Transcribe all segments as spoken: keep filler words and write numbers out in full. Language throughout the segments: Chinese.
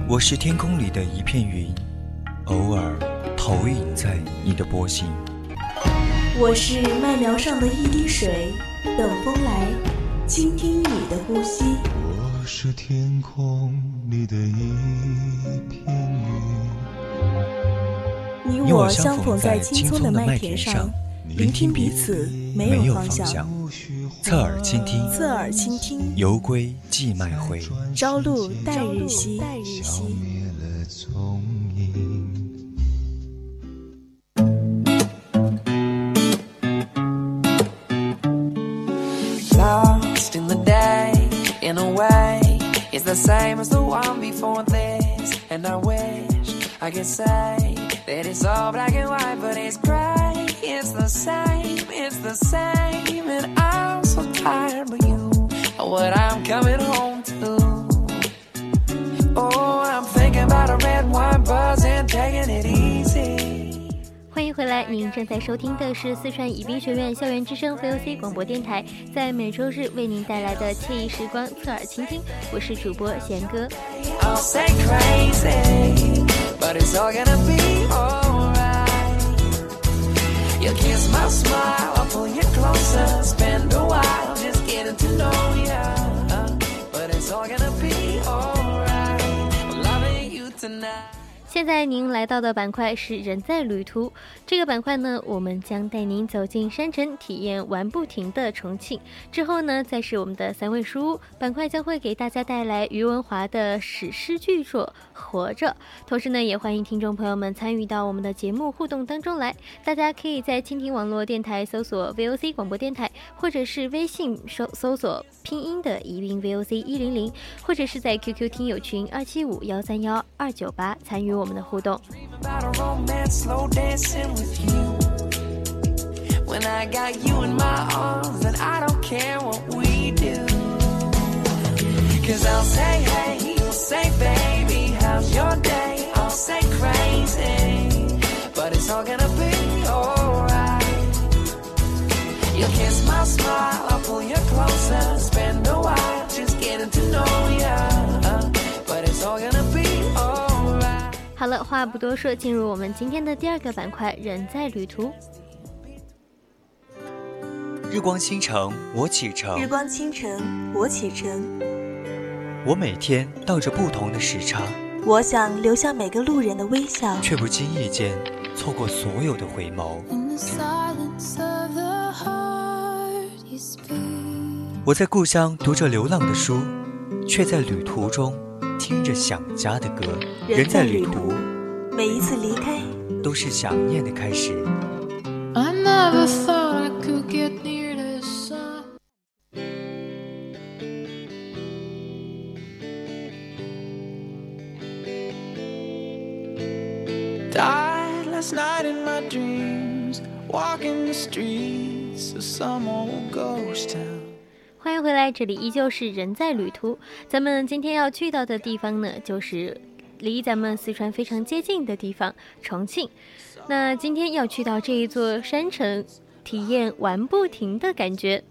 我是天空里的一片云，偶尔投影在你的波心。 我是麦苗上的一滴水，等风来，倾听你的呼吸。 我是天空里的一片云，你我相逢在青葱的麦田上，聆听彼此没有方向。 侧耳倾听， 侧耳倾听， 犹归寄麦回， 朝露待日晞， 消灭了踪影。 Lost in the day, in a way, it's the same as the one before this. And I wish I could say that it's all black and white, but it's gray. It's the same, it's the same. And I'm so tired of you, what I'm coming home to. Oh, I'm thinking about a red wine buzz and taking it easy. 欢迎回来，您正在收听的是四川宜宾学院校园之声 V O C 广播电台，在每周日为您带来的惬意时光侧耳倾听，我是主播贤哥。现在您来到的板块是人在旅途，这个板块呢，我们将带您走进山城，体验玩不停的重庆。之后呢，再是我们的三味书屋板块，将会给大家带来余文华的史诗巨作《活着》。同时呢，也欢迎听众朋友们参与到我们的节目互动当中来。大家可以在蜻蜓网络电台搜索 V O C 广播电台，或者是微信搜搜索拼音的宜宾 V O C 一零零，或者是在 Q Q 听友群二七五幺三幺二九八参与我们的互动。 When I got you in my arms, and I don't care what we do. Cause I'll say hey, you'll say baby, how's your day? I'll say crazy, but it's all gonna be alright. You'll kiss my smile, I'll pull you closer, spend a while just getting to know ya, but it's all gonna be alright. 好了，话不多说，进入我们今天的第二个板块，人在旅途。 日光倾城，我启程。 日光倾城，我启程。 我每天倒着不同的时差， 我想留下每个路人的微笑， 却不经意间错过所有的回眸。我在故乡读着流浪的书，却在旅途中听着想家的歌。 人在旅途，每一次离开都是想念的开始。 I never thought I could get near the sun. Died last night in my dreams, walking the streets of some old ghost town. 欢迎回来，这里依旧是人在旅途。咱们今天要去到的地方呢，就是离咱们四川非常接近的地方——重庆。那今天要去到这一座山城，体验玩不停的感觉。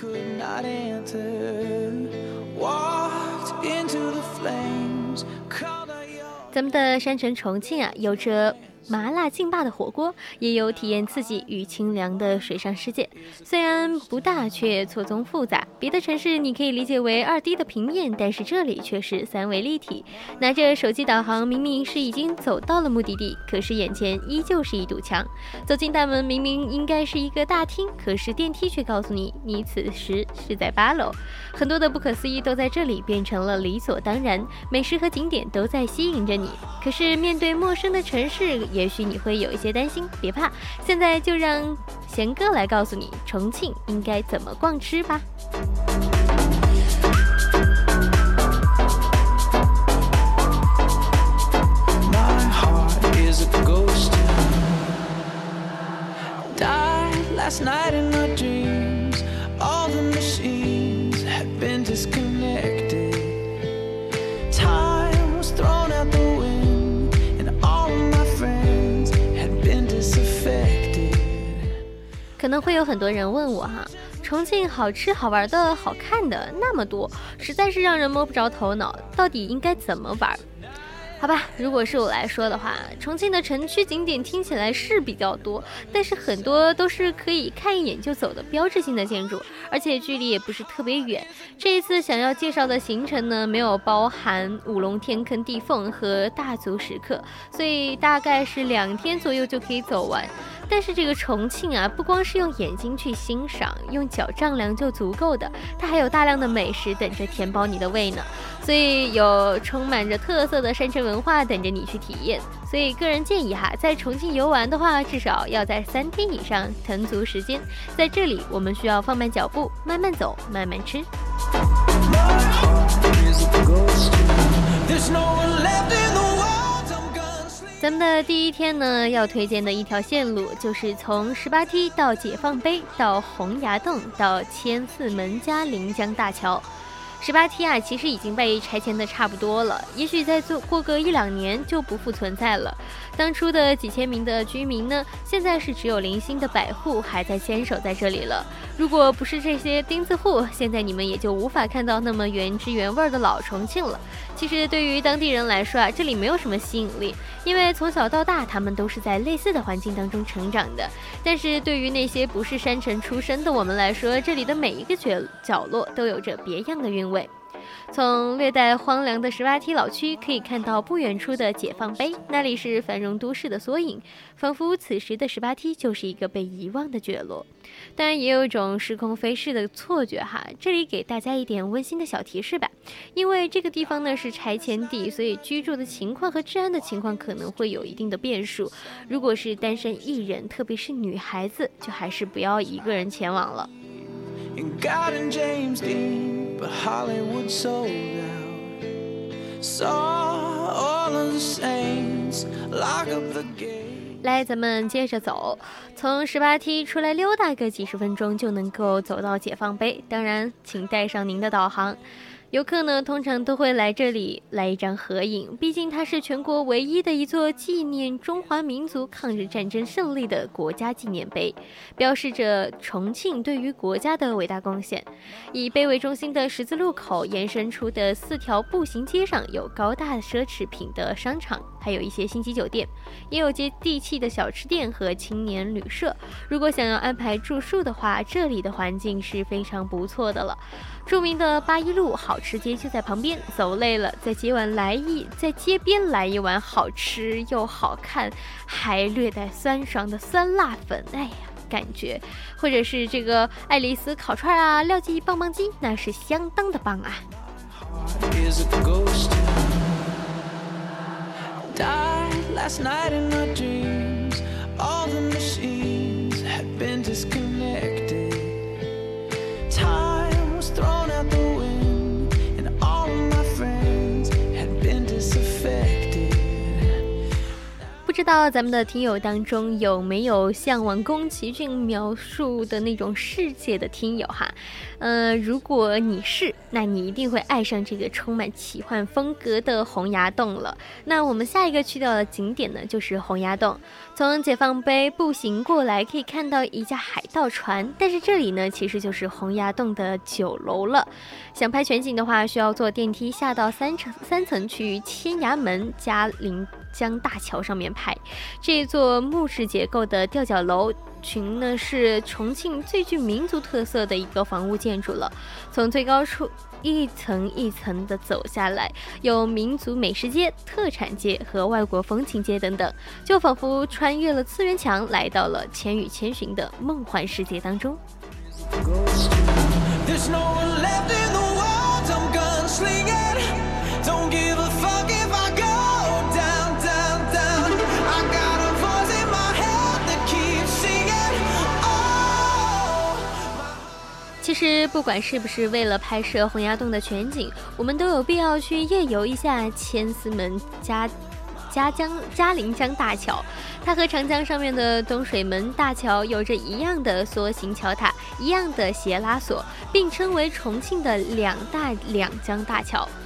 咱们的山城重庆啊，有着麻辣劲霸的火锅，也有体验刺激与清凉的水上世界。虽然不大，却错综复杂。别的城市你可以理解为二 D 的平面，但是这里却是三维立体。拿着手机导航，明明是已经走到了目的地，可是眼前依旧是一堵墙。走进大门，明明应该是一个大厅，可是电梯却告诉你，你此时是在八楼。很多的不可思议都在这里变成了理所当然，美食和景点都在吸引着你。可是面对陌生的城市，也许你会有一些担心，别怕，现在就让贤哥来告诉你重庆应该怎么逛吃吧。 My heart is a ghost town. Died last night in my dreams. All the machines had been disconnected. Time was thrown out the window, and all of my friends had been disaffected. 可能会有很多人问我哈，重庆好吃好玩的好看的那么多，实在是让人摸不着头脑，到底应该怎么玩？ 好吧，如果是我来说的话，重庆的城区景点听起来是比较多，但是很多都是可以看一眼就走的标志性的建筑，而且距离也不是特别远。这一次想要介绍的行程呢，没有包含五龙天坑地缝和大足石刻，所以大概是两天左右就可以走完。但是这个重庆啊，不光是用眼睛去欣赏，用脚丈量就足够的，它还有大量的美食等着填饱你的胃呢。所以有充满着特色的山城文化等着你去体验。所以个人建议哈，在重庆游玩的话，至少要在三天以上腾足时间。在这里，我们需要放慢脚步，慢慢走，慢慢吃。咱们的第一天呢，要推荐的一条线路就是从十八梯到解放碑，到洪崖洞，到千厮门加临江大桥。十八梯啊，其实已经被拆迁的差不多了，也许再做过个一两年就不复存在了。当初的几千名的居民呢，现在是只有零星的百户还在坚守在这里了。如果不是这些钉子户，现在你们也就无法看到那么原汁原味的老重庆了。其实对于当地人来说啊，这里没有什么吸引力，因为从小到大他们都是在类似的环境当中成长的。但是对于那些不是山城出身的我们来说，这里的每一个角角落都有着别样的韵味。从略带荒凉的十八梯老区可以看到不远处的解放碑，那里是繁荣都市的缩影，仿佛此时的十八梯就是一个被遗忘的角落。当然也有一种时空飞逝的错觉哈，这里给大家一点温馨的小提示吧。因为这个地方呢是拆迁地，所以居住的情况和治安的情况可能会有一定的变数。如果是单身一人，特别是女孩子，就还是不要一个人前往了。 But Hollywood sold out. Saw all of the saints lock up the gate. 来，咱们接着走，从十八梯出来溜达个几十分钟就能够走到解放碑。当然，请带上您的导航。游客呢，通常都会来这里来一张合影，毕竟它是全国唯一的一座纪念中华民族抗日战争胜利的国家纪念碑，标示着重庆对于国家的伟大贡献。以碑为中心的十字路口延伸出的四条步行街上，有高大奢侈品的商场，还有一些星级酒店，也有接地气的小吃店和青年旅社。如果想要安排住宿的话，这里的环境是非常不错的了。著名的八一路好吃街就在旁边，走累了在街碗来一在街边来一碗好吃又好看还略带酸爽的酸辣粉，哎呀感觉，或者是这个爱丽丝烤串啊，廖记棒棒鸡，那是相当的棒啊。 Last night in our dreams, all the machines had been disconnected. Time was thrown out the wind, and all of my friends had been disaffected. 不知道咱们的听友当中有没有向往宫崎骏描述的那种世界的听友哈？呃，如果你是，那你一定会爱上这个充满奇幻风格的洪崖洞了。那我们下一个去到的景点呢，就是洪崖洞。从解放碑步行过来，可以看到一架海盗船，但是这里呢，其实就是洪崖洞的九楼了。想拍全景的话，需要坐电梯下到三层三层去千崖门加临江大桥上面拍。这座木质结构的吊脚楼群呢，是重庆最具民族特色的一个房屋建筑了。从最高处一层一层的走下来，有民族美食街、特产街和外国风情街等等，就仿佛穿越了次元墙，来到了《千与千寻》的梦幻世界当中。 There's no one left in the world, I'm gunslinging. Don't give a fuck if I go down, down, down. I got a voice in my head that keeps singing. Oh. 其实不管是不是为了拍摄洪崖洞的全景，我们都有必要去夜游一下千厮门加嘉江嘉陵江大桥。它和长江上面的东水门大桥有着一样的梭形桥塔，一样的斜拉索，并称为重庆的两大两江大桥。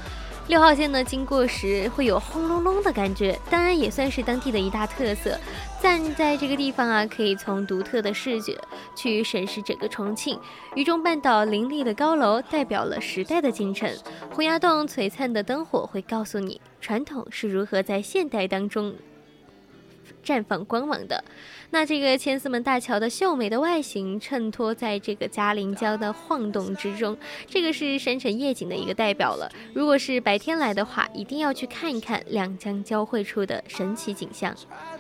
六号线呢经过时会有轰隆隆的感觉，当然也算是当地的一大特色。站在这个地方啊，可以从独特的视觉去审视整个重庆。渝中半岛林立的高楼代表了时代的进程，洪崖洞璀璨的灯火会告诉你传统是如何在现代当中绽放光芒的。那这个千厮门大桥的秀美的外形衬托在这个嘉陵江的晃动之中，这个是山城夜景的一个代表了。如果是白天来的话，一定要去看一看两江交汇处的神奇景象。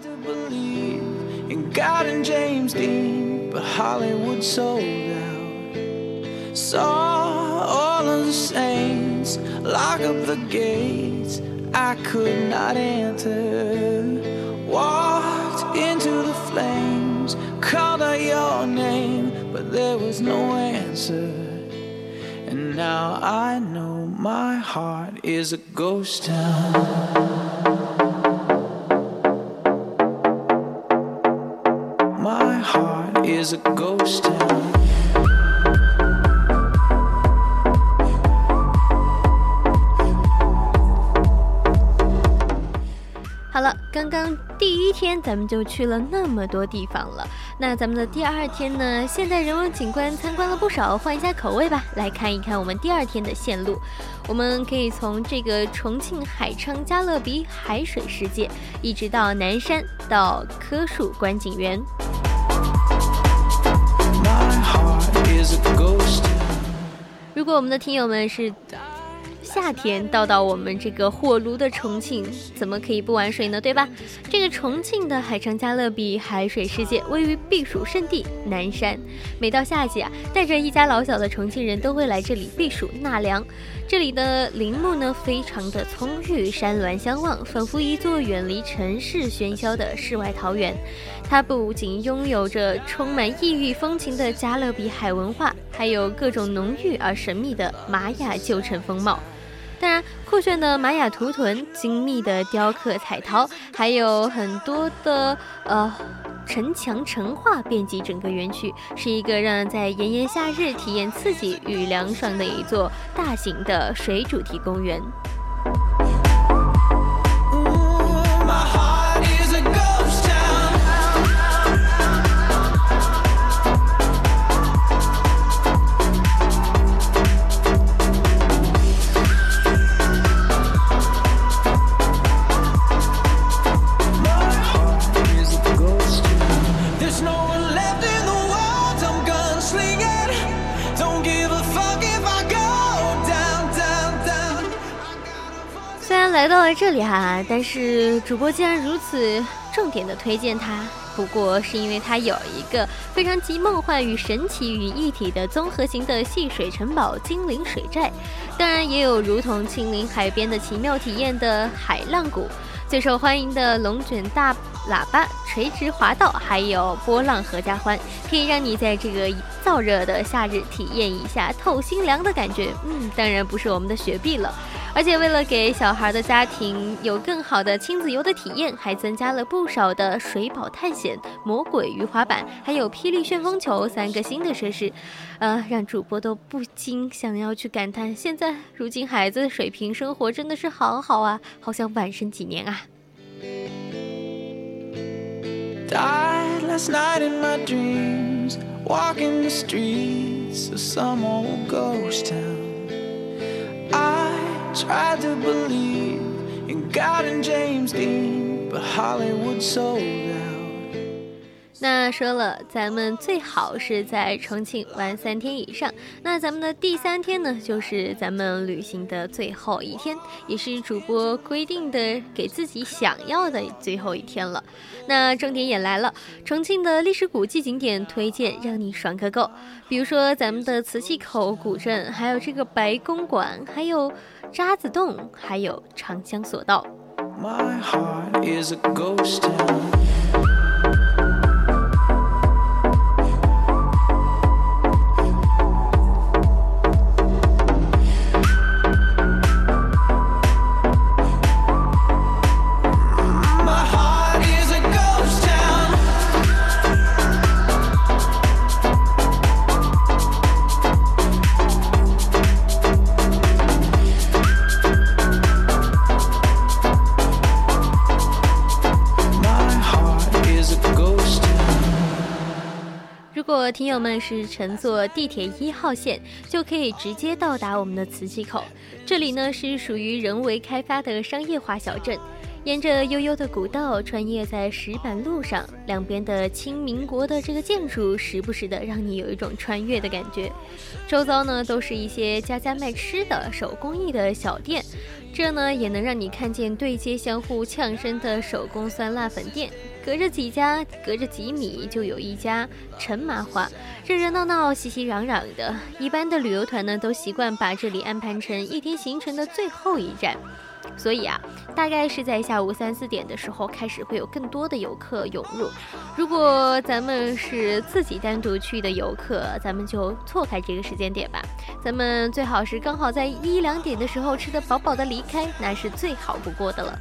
Walked into the flames, called out your name, but there was no answer. And now I know my heart is a ghost town. My heart is a ghost town. 好了，刚刚第一天咱们就去了那么多地方了，那咱们的第二天呢，现代人文景观参观了不少，换一下口味吧，来看一看我们第二天的线路。我们可以从这个重庆海昌加勒比海水世界，一直到南山，到棵树观景园。如果我们的听友们是夏天到到我们这个火炉的重庆，怎么可以不玩水呢，对吧？这个重庆的海昌加勒比海水世界位于避暑胜地南山，每到夏季啊，带着一家老小的重庆人都会来这里避暑纳凉。这里的林木呢非常的葱郁，山峦相望，仿佛一座远离城市喧嚣的世外桃源。它不仅拥有着充满异域风情的加勒比海文化，还有各种浓郁而神秘的玛雅旧城风貌。当然，酷炫的玛雅图腾、精密的雕刻彩陶，还有很多的呃城墙陈画遍及整个园区，是一个让人在炎炎夏日体验刺激与凉爽的一座大型的水主题公园。来到了这里哈，但是主播既然如此重点的推荐它，不过是因为它有一个非常集梦幻与神奇于一体的综合型的戏水城堡精灵水寨，当然也有如同亲临海边的奇妙体验的海浪谷，最受欢迎的龙卷大喇叭、垂直滑道，还有波浪合家欢，可以让你在这个燥热的夏日体验一下透心凉的感觉。嗯，当然不是我们的雪碧了。而且为了给小孩的家庭有更好的亲子游的体验，还增加了不少的水保探险、魔鬼鱼滑板，还有霹雳旋风球三个新的设施，呃，让主播都不禁想要去感叹，现在如今孩子的水平生活真的是好好啊，好想晚生几年啊。 Died last night in my dreams, walking the streets of some old ghost town. I tried to believe in God and James Dean, but Hollywood sold out. 那说了，咱们最好是在重庆玩三天以上。那咱们的第三天呢，就是咱们旅行的最后一天，也是主播规定的给自己想要的最后一天了。那重点也来了，重庆的历史古迹景点推荐让你爽个够。比如说咱们的磁器口古镇，还有这个白公馆，还有渣滓洞，还有长江索道。 My heart is a ghost town. 果听友们是乘坐地铁一号线，就可以直接到达我们的磁器口。这里呢是属于人为开发的商业化小镇，沿着悠悠的古道穿越在石板路上，两边的清民国的这个建筑时不时的让你有一种穿越的感觉。周遭呢都是一些家家卖吃的手工艺的小店，这呢也能让你看见对接相互呛声的手工酸辣粉店，隔着几家隔着几米就有一家陈麻花，热热闹闹熙熙攘攘的。一般的旅游团呢都习惯把这里安排成一天行程的最后一站，所以啊，大概是在下午三四点的时候开始会有更多的游客涌入。如果咱们是自己单独去的游客，咱们就错开这个时间点吧。咱们最好是刚好在一两点的时候吃得饱饱的离开，那是最好不过的了。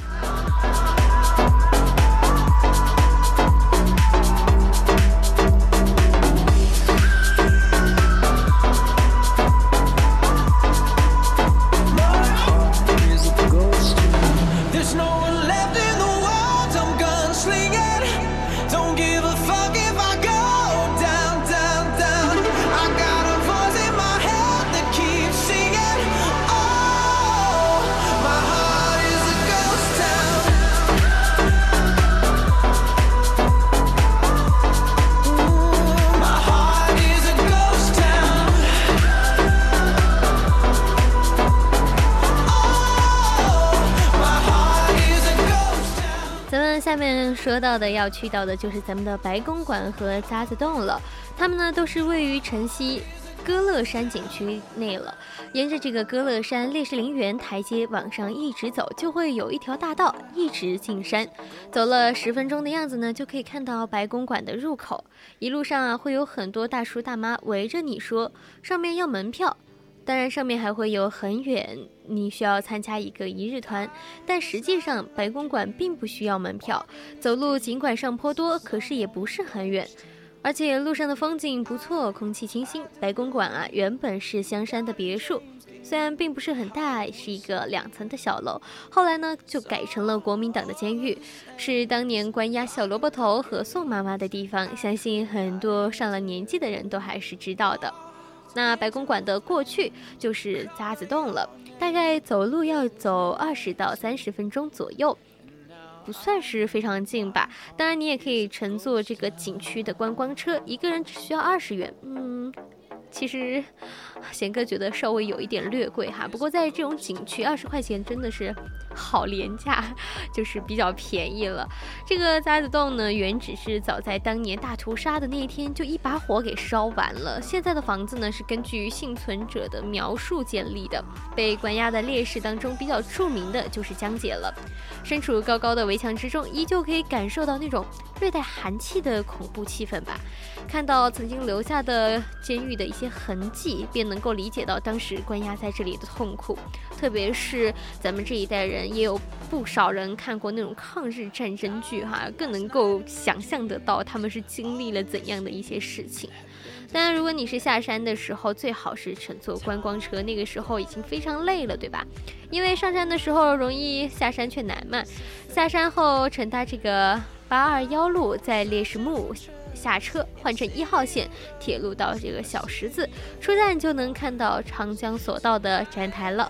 下面说到的要去到的就是咱们的白公馆和渣滓洞了，它们呢都是位于城西歌乐山景区内了。沿着这个歌乐山烈士陵园台阶往上一直走，就会有一条大道一直进山，走了十分钟的样子呢，就可以看到白公馆的入口。一路上啊，会有很多大叔大妈围着你说上面要门票，当然上面还会有很远，你需要参加一个一日团，但实际上白公馆并不需要门票，走路尽管上坡多，可是也不是很远，而且路上的风景不错，空气清新。白公馆啊，原本是香山的别墅，虽然并不是很大，是一个两层的小楼，后来呢就改成了国民党的监狱，是当年关押小萝卜头和宋妈妈的地方，相信很多上了年纪的人都还是知道的。那白公馆的过去就是渣滓洞了，大概走路要走二十到三十分钟左右，不算是非常近吧。当然你也可以乘坐这个景区的观光车，一个人只需要二十元。嗯，其实贤哥觉得稍微有一点略贵哈，不过在这种景区二十块钱真的是好廉价，就是比较便宜了。这个渣滓洞呢，原只是早在当年大屠杀的那一天就一把火给烧完了。现在的房子呢是根据幸存者的描述建立的。被关押的烈士当中比较著名的就是江姐了。身处高高的围墙之中，依旧可以感受到那种略带寒气的恐怖气氛吧。看到曾经留下的监狱的一些痕迹，便能够理解到当时关押在这里的痛苦。特别是咱们这一代人，也有不少人看过那种抗日战争剧哈，更能够想象得到他们是经历了怎样的一些事情。当然如果你是下山的时候，最好是乘坐观光车，那个时候已经非常累了，对吧？因为上山的时候容易，下山却难嘛。下山后乘搭这个八二一路，在烈士墓下车，换乘一号线铁路到这个小石子，出站就能看到长江索道的站台了。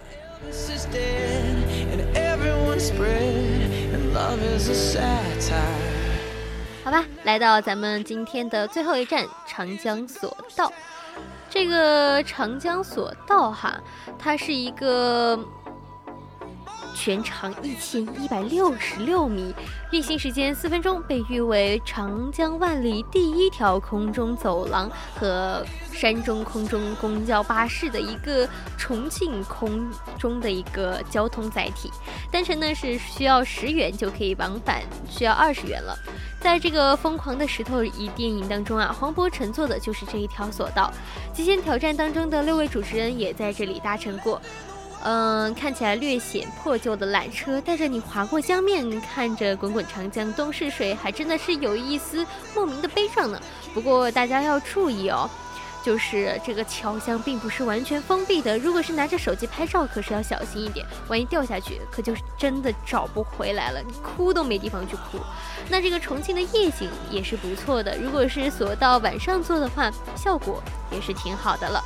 好吧，来到咱们今天的最后一站长江索道。这个长江索道哈，它是一个全长一千一百六十六米，运行时间四分钟，被誉为长江万里第一条空中走廊和山中空中公交巴士的一个重庆空中的一个交通载体。单程呢是需要十元就可以往返，需要二十元了。在这个疯狂的石头仪电影当中啊，黄渤乘坐的就是这一条索道。极限挑战当中的六位主持人也在这里搭乘过。嗯，看起来略显破旧的缆车带着你划过江面，看着滚滚长江东逝水，还真的是有一丝莫名的悲伤呢。不过大家要注意哦， 就是这个桥厢并不是完全封闭的，如果是拿着手机拍照，可是要小心一点，万一掉下去，可就是真的找不回来了，你哭都没地方去哭。那这个重庆的夜景也是不错的，如果是锁到晚上做的话，效果也是挺好的了。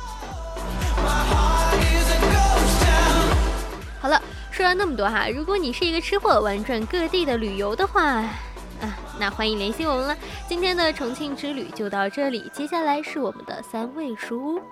好了，说了那么多哈，如果你是一个吃货，玩转各地的旅游的话啊，那欢迎联系我们了。今天的重庆之旅就到这里，接下来是我们的三位书屋。